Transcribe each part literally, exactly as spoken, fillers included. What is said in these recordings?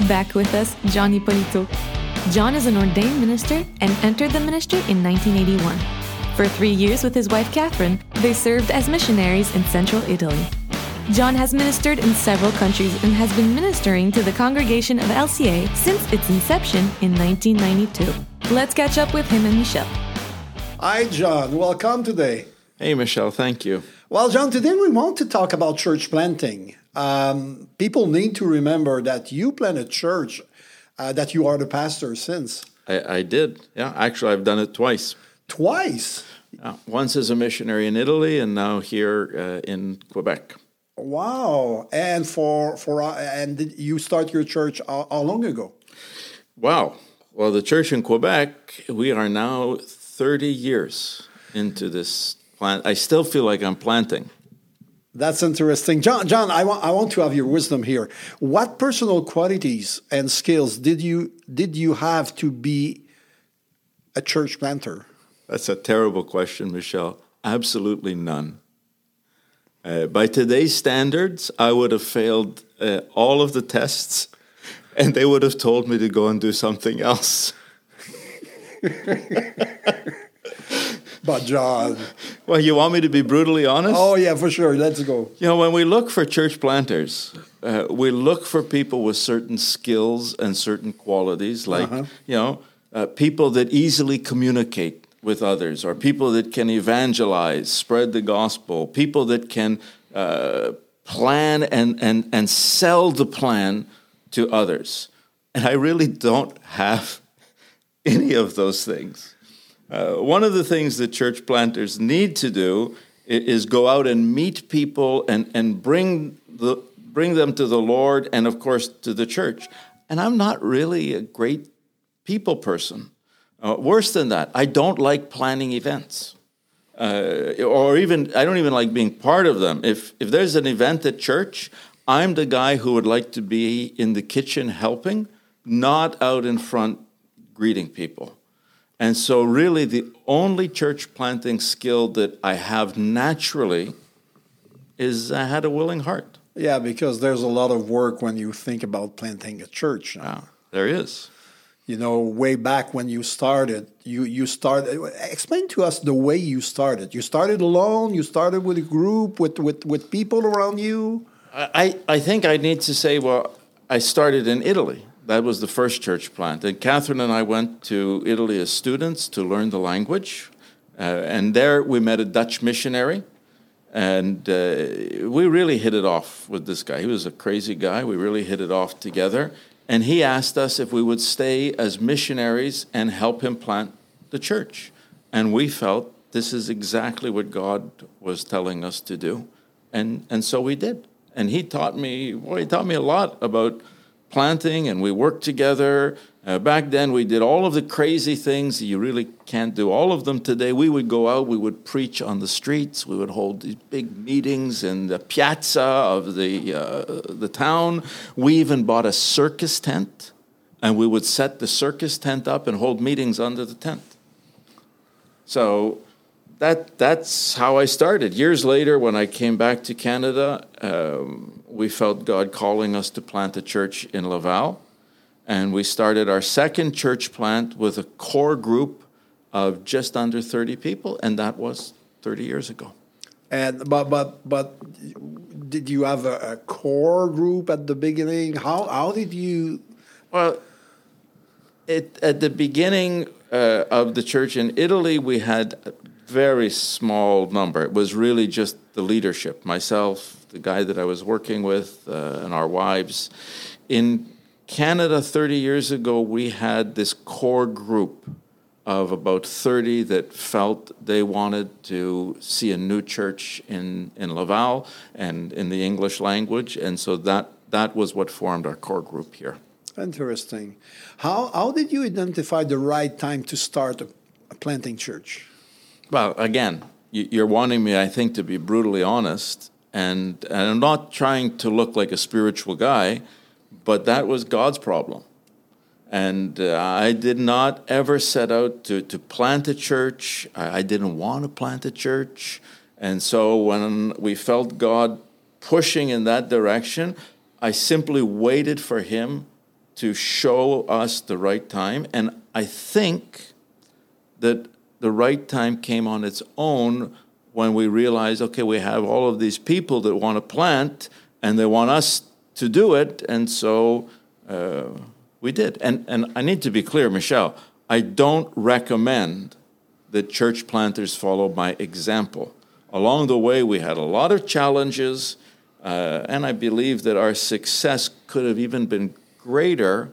Back with us, John Ippolito. John is an ordained minister and entered the ministry in nineteen eighty-one. For three years with his wife Catherine, they served as missionaries in central Italy. John has ministered in several countries and has been ministering to the congregation of L C A since its inception in nineteen ninety-two. Let's catch up with him and Michel. Hi, John. Welcome today. Hey, Michel. Thank you. Well, John, today we want to talk about church planting. Um, people need to remember that you planted church, uh, that you are the pastor since. I, I did. Yeah, actually, I've done it twice. Twice? Uh, once as a missionary in Italy, and now here uh, in Quebec. Wow! And for for uh, and did you start your church how, how long ago? Wow! Well, the church in Quebec, we are now thirty years into this plant. I still feel like I'm planting. That's interesting, John. John, I want I want to have your wisdom here. What personal qualities and skills did you did you have to be a church planter? That's a terrible question, Michel. Absolutely none. Uh, by today's standards, I would have failed uh, all of the tests, and they would have told me to go and do something else. But John... Well, you want me to be brutally honest? Oh, yeah, for sure. Let's go. You know, when we look for church planters, uh, we look for people with certain skills and certain qualities, like, uh-huh. you know, uh, people that easily communicate with others, or people that can evangelize, spread the gospel, people that can uh, plan and, and, and sell the plan to others. And I really don't have any of those things. Uh, one of the things that church planters need to do is go out and meet people and, and bring the bring them to the Lord and, of course, to the church. And I'm not really a great people person. Uh, worse than that, I don't like planning events. Uh, or even, I don't even like being part of them. If if there's an event at church, I'm the guy who would like to be in the kitchen helping, not out in front greeting people. And so really the only church planting skill that I have naturally is I had a willing heart. Yeah, because there's a lot of work when you think about planting a church. Yeah, there is. You know, way back when you started, you, you started, explain to us the way you started. You started alone, you started with a group, with, with, with people around you? I, I think I need to say, well, I started in Italy. That was the first church plant. And Catherine and I went to Italy as students to learn the language. Uh, and there we met a Dutch missionary. And uh, we really hit it off with this guy. He was a crazy guy. We really hit it off together. And he asked us if we would stay as missionaries and help him plant the church. And we felt this is exactly what God was telling us to do. And and so we did. And he taught me, well, he taught me a lot about planting, and we worked together. Uh, back then, we did all of the crazy things that you really can't do. All of them today. We would go out, we would preach on the streets, we would hold these big meetings in the piazza of the uh, the town. We even bought a circus tent, and we would set the circus tent up and hold meetings under the tent. So that that's how I started. Years later, when I came back to Canada, um, we felt God calling us to plant a church in Laval. And we started our second church plant with a core group of just under thirty people, and that was thirty years ago. And but but but did you have a, a core group at the beginning? How how did you? Well, it, at the beginning uh, of the church in Italy, we had a very small number. It was really just the leadership, myself, the guy that I was working with, uh, and our wives. In Canada, thirty years ago, we had this core group of about thirty that felt they wanted to see a new church in, in Laval and in the English language. And so that, that was what formed our core group here. Interesting. How, how did you identify the right time to start a, a planting church? Well, again, you're wanting me, I think, to be brutally honest. And, and I'm not trying to look like a spiritual guy, but that was God's problem. And uh, I did not ever set out to, to plant a church. I, I didn't want to plant a church. And so when we felt God pushing in that direction, I simply waited for him to show us the right time. And I think that the right time came on its own when we realized, okay, we have all of these people that want to plant, and they want us to do it, and so uh, we did. And, and I need to be clear, Michel, I don't recommend that church planters follow my example. Along the way, we had a lot of challenges, uh, and I believe that our success could have even been greater,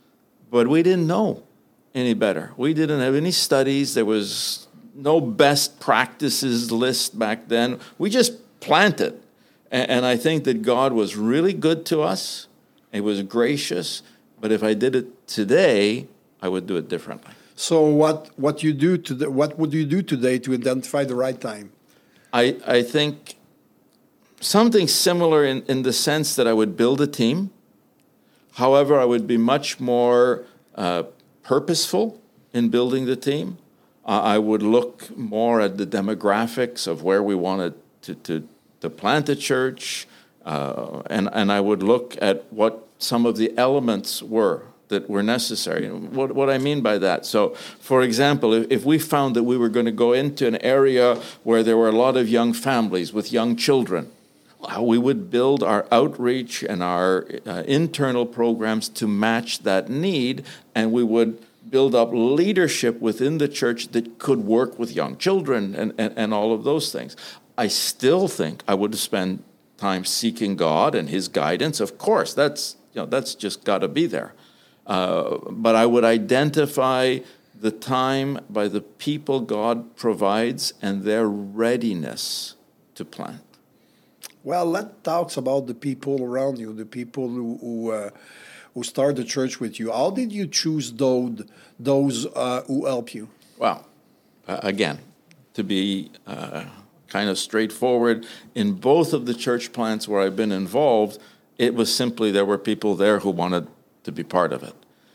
but we didn't know any better. We didn't have any studies. There was no best practices list back then. We just planted. And, and I think that God was really good to us. He was gracious. But if I did it today, I would do it differently. So what what you do to what would you do today to identify the right time? I I think something similar in, in the sense that I would build a team. However, I would be much more uh, purposeful in building the team. Uh, I would look more at the demographics of where we wanted to to, to plant a church, uh, and and I would look at what some of the elements were that were necessary. What, what I mean by that, so for example, if, if we found that we were going to go into an area where there were a lot of young families with young children, we would build our outreach and our uh, internal programs to match that need, and we would build up leadership within the church that could work with young children and, and, and all of those things. I still think I would spend time seeking God and His guidance. Of course, that's you know that's just got to be there. Uh, but I would identify the time by the people God provides and their readiness to plant. Well, let's talk about the people around you, the people who who, uh, who start the church with you. How did you choose those those uh, who help you? Well, uh, again, to be uh, kind of straightforward, in both of the church plants where I've been involved, it was simply there were people there who wanted to be part of it.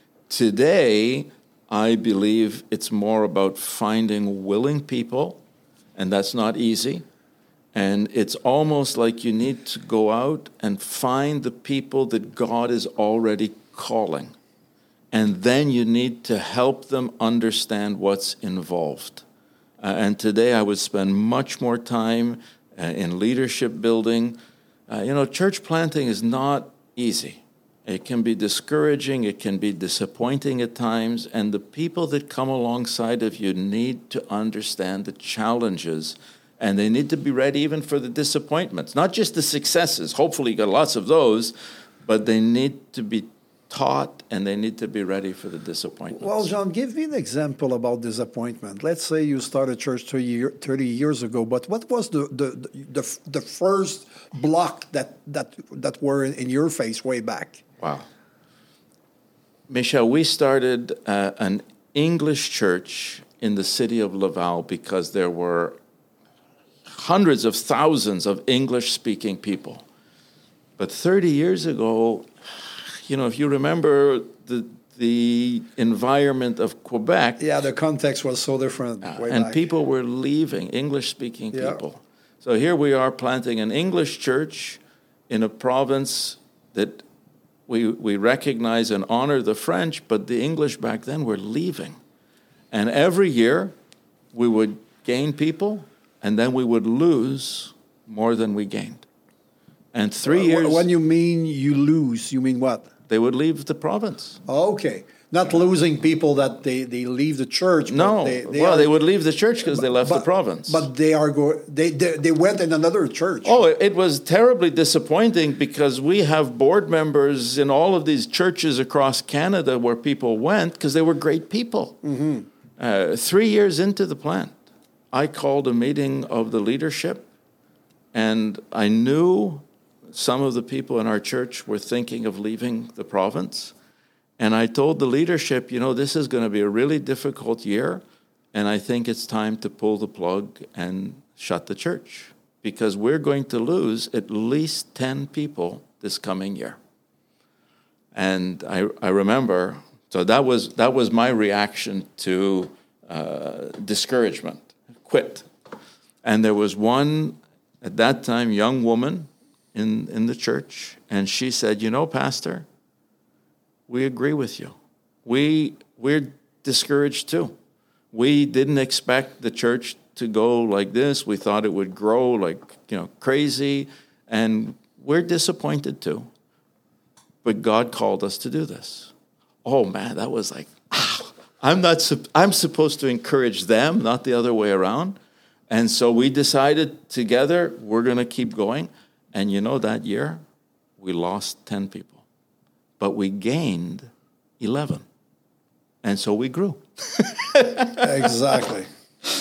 Today, I believe it's more about finding willing people, and that's not easy. And it's almost like you need to go out and find the people that God is already calling. And then you need to help them understand what's involved. Uh, and today I would spend much more time uh, in leadership building. Uh, you know, church planting is not easy. It can be discouraging, it can be disappointing at times, and the people that come alongside of you need to understand the challenges, and they need to be ready even for the disappointments, not just the successes. Hopefully you got lots of those, but they need to be taught and they need to be ready for the disappointments. Well, John, give me an example about disappointment. Let's say you started church thirty years ago, but what was the the, the, the first block that, that, that were in your face way back? Wow. Michel, we started uh, an English church in the city of Laval because there were hundreds of thousands of English-speaking people. But thirty years ago, you know, if you remember the the environment of Quebec. Yeah, the context was so different. Uh, way and back. people were leaving, English-speaking yeah. people. So here we are planting an English church in a province that we we recognize and honor the French, but the English back then were leaving. And every year we would gain people, and then we would lose more than we gained. And three uh, years... When you mean you lose, you mean what? They would leave the province. Okay. Not losing people that they, they leave the church. But No. they, they well, are, they would leave the church because they left but, the province. But they are go. They, they they went in another church. Oh, it, it was terribly disappointing because we have board members in all of these churches across Canada where people went because they were great people. Mm-hmm. Uh, three years into the plant, I called a meeting of the leadership, and I knew some of the people in our church were thinking of leaving the province. And I told the leadership, you know, this is going to be a really difficult year, and I think it's time to pull the plug and shut the church because we're going to lose at least ten people this coming year. And I, I remember, so that was that was my reaction to uh, discouragement, quit. And there was one, at that time, young woman in, in the church, and she said, you know, Pastor, we agree with you. We, we're discouraged too. We didn't expect the church to go like this. We thought it would grow like, you know, crazy, and we're disappointed too. But God called us to do this. Oh man, that was like, ah, I'm not, I'm supposed to encourage them, not the other way around. And so we decided together, we're going to keep going. And you know, that year, we lost ten people. But we gained eleven. And so we grew. Exactly.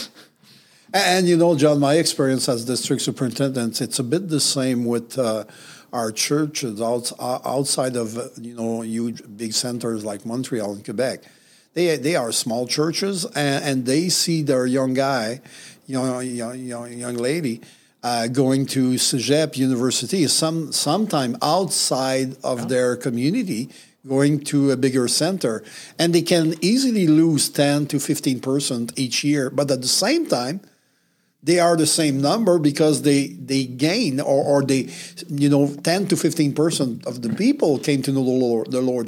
And, you know, John, my experience as district superintendent, it's a bit the same with uh, our churches out, outside of, uh, you know, huge big centers like Montreal and Quebec. They they are small churches, and, and they see their young guy, you know, young, young, young lady, uh, going to Cégep University, some sometime outside of yeah. their community, going to a bigger center. And they can easily lose ten to fifteen percent each year. But at the same time, they are the same number because they, they gain, or, or they, you know, ten to fifteen percent of the people came to know the Lord. The Lord.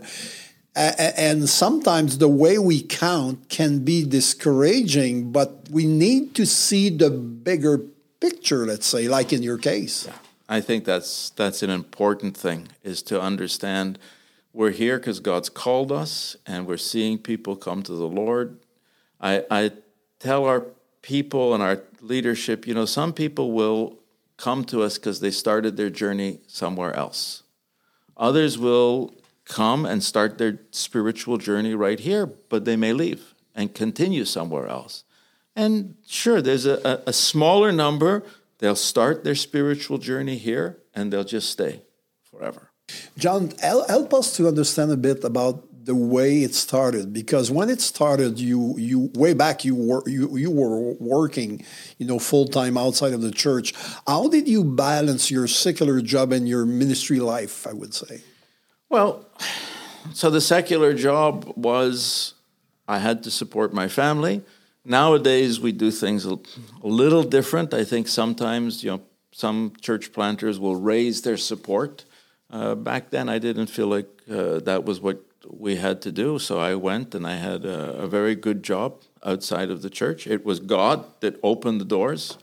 And sometimes the way we count can be discouraging, but we need to see the bigger picture, let's say, like in your case. Yeah, I think that's that's an important thing, is to understand we're here because God's called us, and we're seeing people come to the Lord. I, I tell our people and our leadership, you know, some people will come to us because they started their journey somewhere else. Others will come and start their spiritual journey right here, but they may leave and continue somewhere else. And sure, there's a, a, a smaller number. They'll start their spiritual journey here, and they'll just stay forever. John, help us to understand a bit about the way it started, because when it started, you you way back you were you you were working, you know, full time outside of the church. How did you balance your secular job and your ministry life, I would say? Well, so the secular job was, I had to support my family. Nowadays, we do things a, a little different. I think sometimes, you know, some church planters will raise their support. Uh, back then, I didn't feel like uh, that was what we had to do. So I went and I had a, a very good job outside of the church. It was God that opened the doors.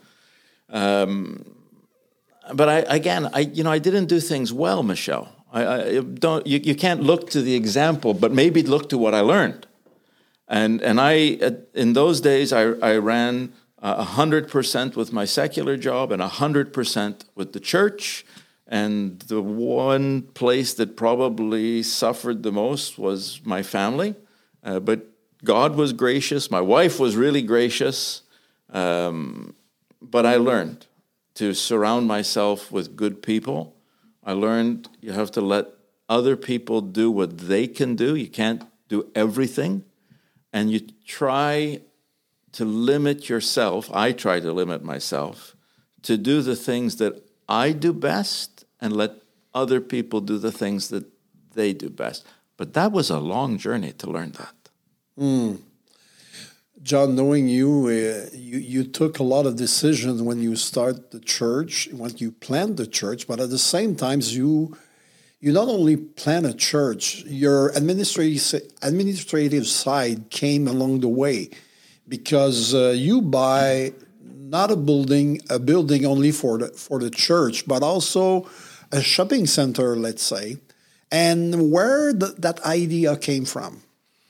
Um, but I, again, I, you know, I didn't do things well, Michel. I, I don't. You, you can't look to the example, but maybe look to what I learned. And and I in those days I I ran a hundred percent with my secular job and a hundred percent with the church. And the one place that probably suffered the most was my family. Uh, but God was gracious. My wife was really gracious. Um, but I learned to surround myself with good people. I learned you have to let other people do what they can do. You can't do everything. And you try to limit yourself. I try to limit myself to do the things that I do best and let other people do the things that they do best. But that was a long journey to learn that. Mm. John, knowing you, uh, you, you took a lot of decisions when you start the church, when you plant the church, but at the same time, you you not only plant a church, your administrative administrative side came along the way, because uh, you buy not a building a building only for the for the church, but also a shopping center, let's say. And where the, that idea came from?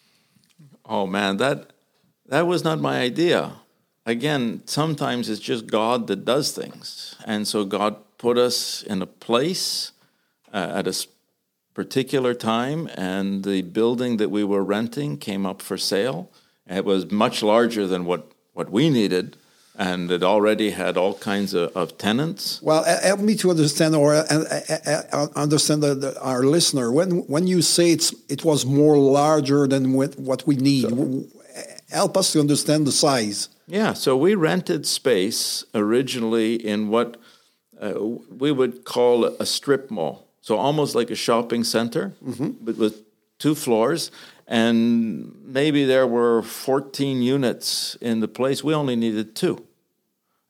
Oh man, that. That was not my idea. Again, sometimes it's just God that does things. And so God put us in a place uh, at a particular time, and the building that we were renting came up for sale. It was much larger than what, what we needed, and it already had all kinds of, of tenants. Well, help me to understand, or uh, uh, understand the, the, our listener. When when you say it's it was more larger than what we need, so, help us to understand the size. Yeah, so we rented space originally in what uh, we would call a strip mall. So almost like a shopping center, mm-hmm. but with two floors. And maybe there were fourteen units in the place. We only needed two.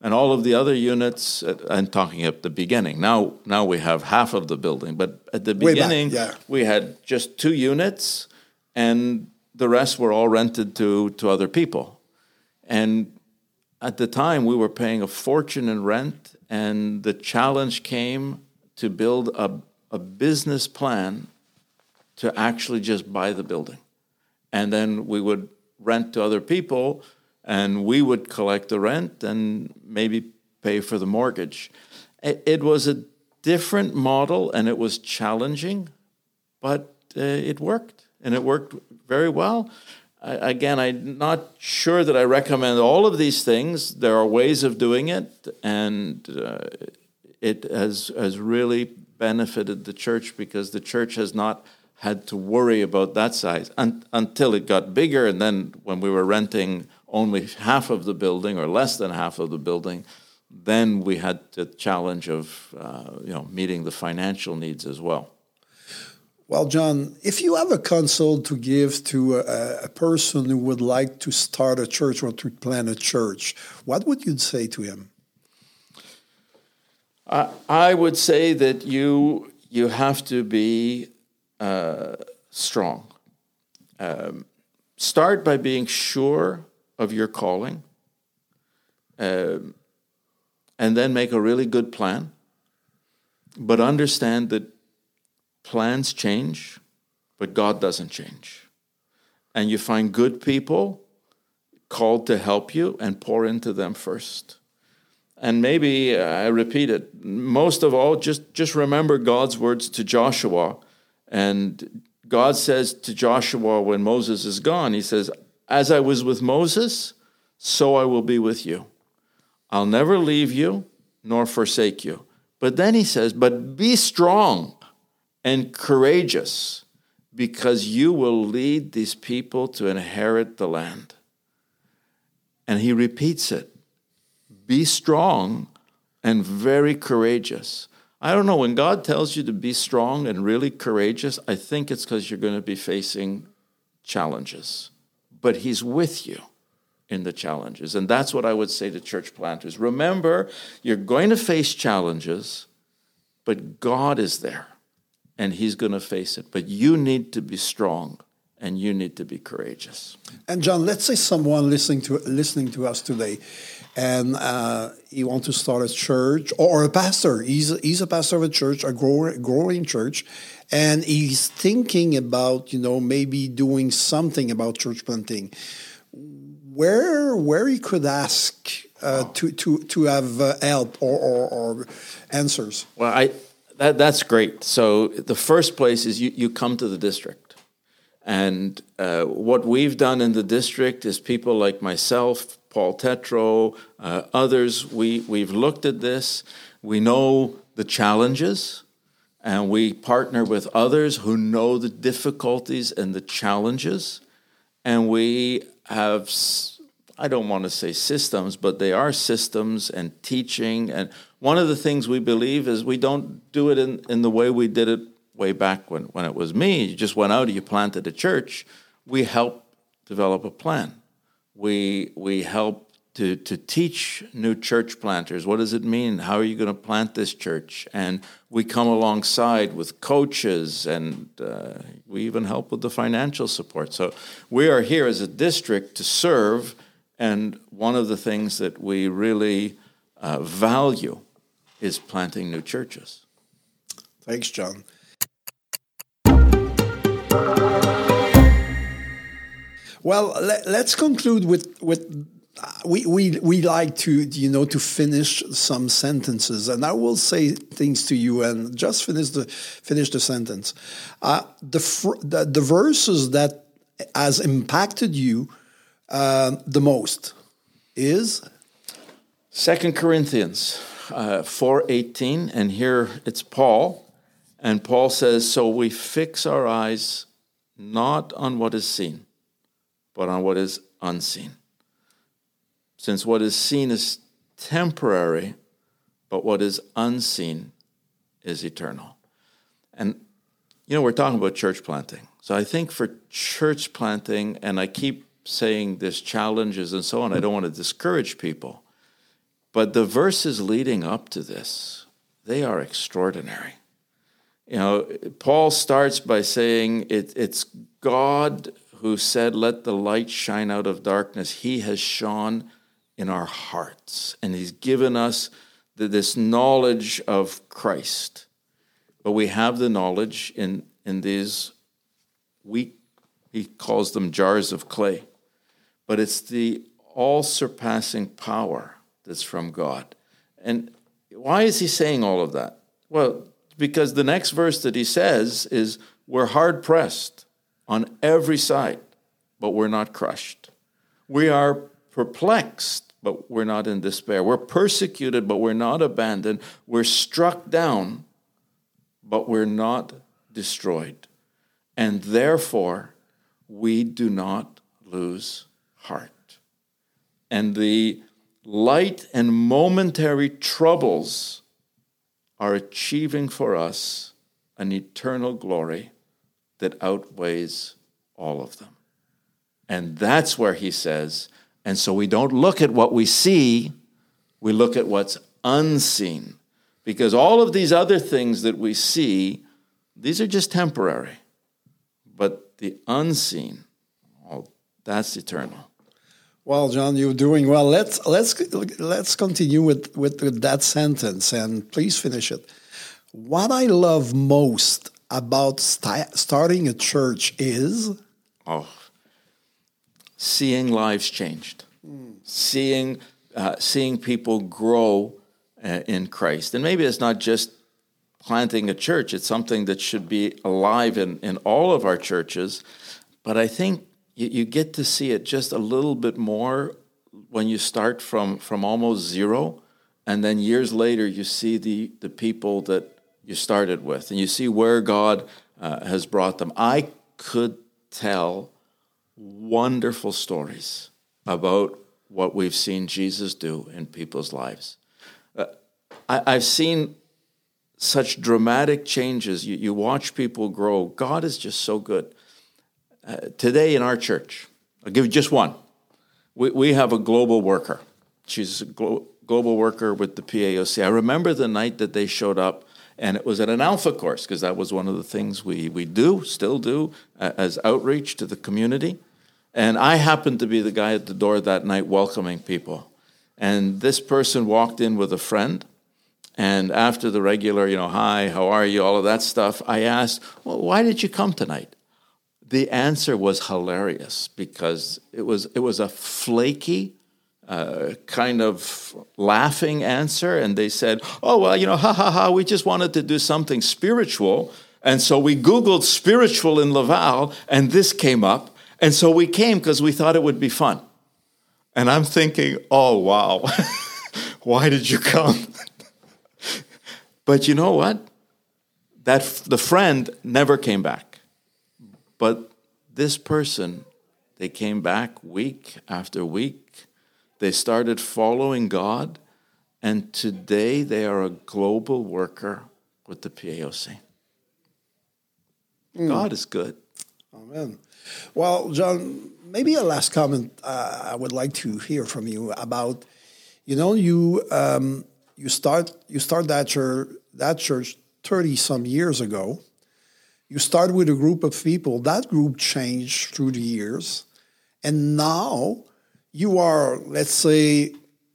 And all of the other units, uh, I'm talking at the beginning. Now, now we have half of the building, but at the Way back, beginning, yeah. we had just two units, and the rest were all rented to, to other people. And at the time, we were paying a fortune in rent, and the challenge came to build a, a business plan to actually just buy the building. And then we would rent to other people, and we would collect the rent and maybe pay for the mortgage. It, it was a different model, and it was challenging, but uh, it worked, and it worked very well. I, again, I'm not sure that I recommend all of these things. There are ways of doing it, and uh, it has, has really benefited the church, because the church has not had to worry about that size un- until it got bigger. And then when we were renting only half of the building or less than half of the building, then we had the challenge of uh, you know meeting the financial needs as well. Well, John, if you have a counsel to give to a, a person who would like to start a church or to plant a church, what would you say to him? I, I would say that you you have to be uh, strong. Um, start by being sure of your calling, um, and then make a really good plan. But understand that plans change, but God doesn't change. And you find good people called to help you and pour into them first. And maybe, uh, I repeat it, most of all, just, just remember God's words to Joshua. And God says to Joshua when Moses is gone, he says, "As I was with Moses, so I will be with you. I'll never leave you nor forsake you." But then he says, "But be strong and courageous, because you will lead these people to inherit the land." And he repeats it. Be strong and very courageous. I don't know, when God tells you to be strong and really courageous, I think it's because you're going to be facing challenges. But he's with you in the challenges. And that's what I would say to church planters. Remember, you're going to face challenges, but God is there. And he's going to face it. But you need to be strong, and you need to be courageous. And John, let's say someone listening to listening to us today, and uh, he wants to start a church, or a pastor. He's a, he's a pastor of a church, a growing, growing church, and he's thinking about, you know, maybe doing something about church planting. Where where he could ask uh, oh. to to to have uh, help or, or, or answers. Well, I. That, that's great. So the first place is you, you come to the district. And uh, what we've done in the district is people like myself, Paul Tetro, uh, others, we, we've looked at this. We know the challenges, and we partner with others who know the difficulties and the challenges. And we have, I don't want to say systems, but they are systems and teaching. And one of the things we believe is we don't do it in, in the way we did it way back when, when it was me. You just went out and you planted a church. We help develop a plan. We we help to, to teach new church planters. What does it mean? How are you going to plant this church? And we come alongside with coaches, and uh, we even help with the financial support. So we are here as a district to serve, and one of the things that we really uh, value is planting new churches. Thanks, John. Well, let, let's conclude with with uh, we we we like to you know to finish some sentences, and I will say things to you, and just finish the finish the sentence. Uh, the, fr- the the verses that has impacted you uh, the most is Second Corinthians uh, four eighteen, and here it's Paul, and Paul says, "So we fix our eyes not on what is seen, but on what is unseen. Since what is seen is temporary, but what is unseen is eternal." And, you know, we're talking about church planting. So I think for church planting, and I keep saying there's challenges and so on, I don't want to discourage people. But the verses leading up to this, they are extraordinary. You know, Paul starts by saying it, it's God who said, let the light shine out of darkness. He has shone in our hearts, and he's given us the, this knowledge of Christ. But we have the knowledge in, in these weak, he calls them jars of clay. But it's the all-surpassing power that's from God. And why is he saying all of that? Well, because the next verse that he says is, we're hard-pressed on every side, but we're not crushed. We are perplexed, but we're not in despair. We're persecuted, but we're not abandoned. We're struck down, but we're not destroyed. And therefore, we do not lose heart. And the light and momentary troubles are achieving for us an eternal glory that outweighs all of them. And that's where he says, and so we don't look at what we see, we look at what's unseen. Because all of these other things that we see, these are just temporary. But the unseen, oh, that's eternal. Well, John, you're doing well. Let's let's let's continue with, with that sentence, and please finish it. What I love most about st- starting a church is oh, seeing lives changed, mm. seeing uh, seeing people grow uh, in Christ, and maybe it's not just planting a church; it's something that should be alive in, in all of our churches. But I think you, you get to see it just a little bit more when you start from, from almost zero, and then years later you see the, the people that you started with, and you see where God uh, has brought them. I could tell wonderful stories about what we've seen Jesus do in people's lives. Uh, I, I've seen such dramatic changes. You, you watch people grow. God is just so good. Uh, today in our church, I'll give you just one. We, we have a global worker. She's a glo- global worker with the P A O C. I remember the night that they showed up, and it was at an Alpha course, because that was one of the things we, we do, still do, uh, as outreach to the community. And I happened to be the guy at the door that night welcoming people. And this person walked in with a friend. And after the regular, you know, hi, how are you, all of that stuff, I asked, well, why did you come tonight? The answer was hilarious, because it was it was a flaky, uh, kind of laughing answer. And they said, oh, well, you know, ha, ha, ha, we just wanted to do something spiritual. And so we Googled spiritual in Laval, and this came up. And so we came because we thought it would be fun. And I'm thinking, oh, wow, why did you come? But you know what? That the friend never came back. But this person, they came back week after week. They started following God. And today they are a global worker with the P A O C. Mm. God is good. Amen. Well, John, maybe a last comment uh, I would like to hear from you about, you know, you um, you start you start that church that church thirty some years ago. You start with a group of people. That group changed through the years, and now you are, let's say,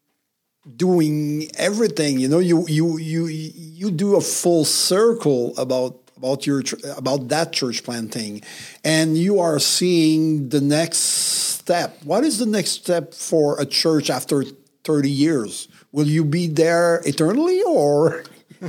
doing everything. You know, you you you you do a full circle about. about your about that church planting, and you are seeing the next step. What is the next step for a church after thirty years? Will you be there eternally, or?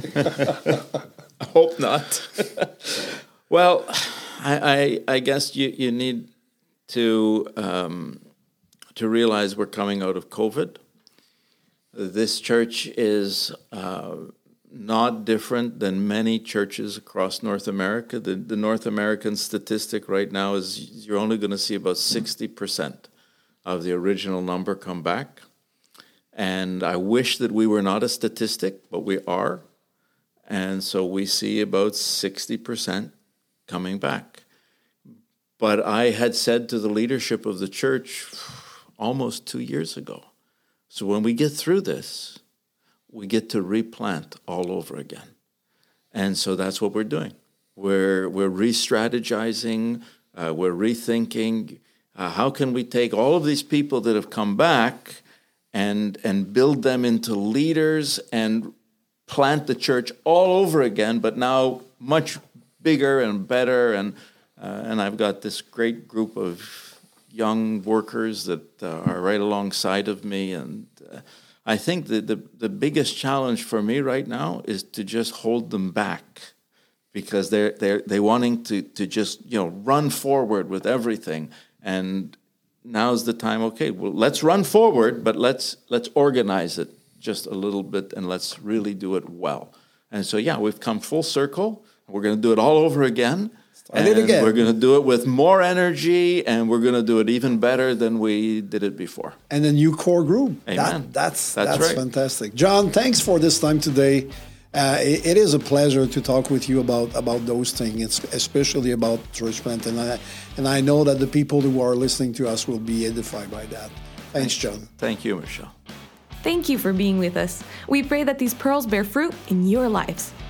I hope not. Well, I, I, I guess you, you need to um, to realize we're coming out of COVID. This church is uh, not different than many churches across North America. The, the North American statistic right now is you're only going to see about sixty percent of the original number come back. And I wish that we were not a statistic, but we are. And so we see about sixty percent coming back. But I had said to the leadership of the church almost two years ago, So when we get through this, we get to replant all over again. And so that's what we're doing. We're, we're re-strategizing, uh, we're rethinking, uh, how can we take all of these people that have come back and, and build them into leaders and plant the church all over again, but now much bigger and better. And, uh, and I've got this great group of young workers that uh, are right alongside of me. And uh, I think that the, the biggest challenge for me right now is to just hold them back, because they're they're they wanting to to just, you know, run forward with everything. And now's the time. Okay, well, let's run forward, but let's let's organize it just a little bit, and let's really do it well. And so, yeah, we've come full circle. We're going to do it all over again. Start it again. We're going to do it with more energy, and we're going to do it even better than we did it before. And a new core group. Amen. That, that's That's that's right. fantastic. John, thanks for this time today. Uh, it, it is a pleasure to talk with you about, about those things, it's especially about church plant. And I, and I know that the people who are listening to us will be edified by that. Thanks, John. Thank you, Michelle. Thank you for being with us. We pray that these pearls bear fruit in your lives.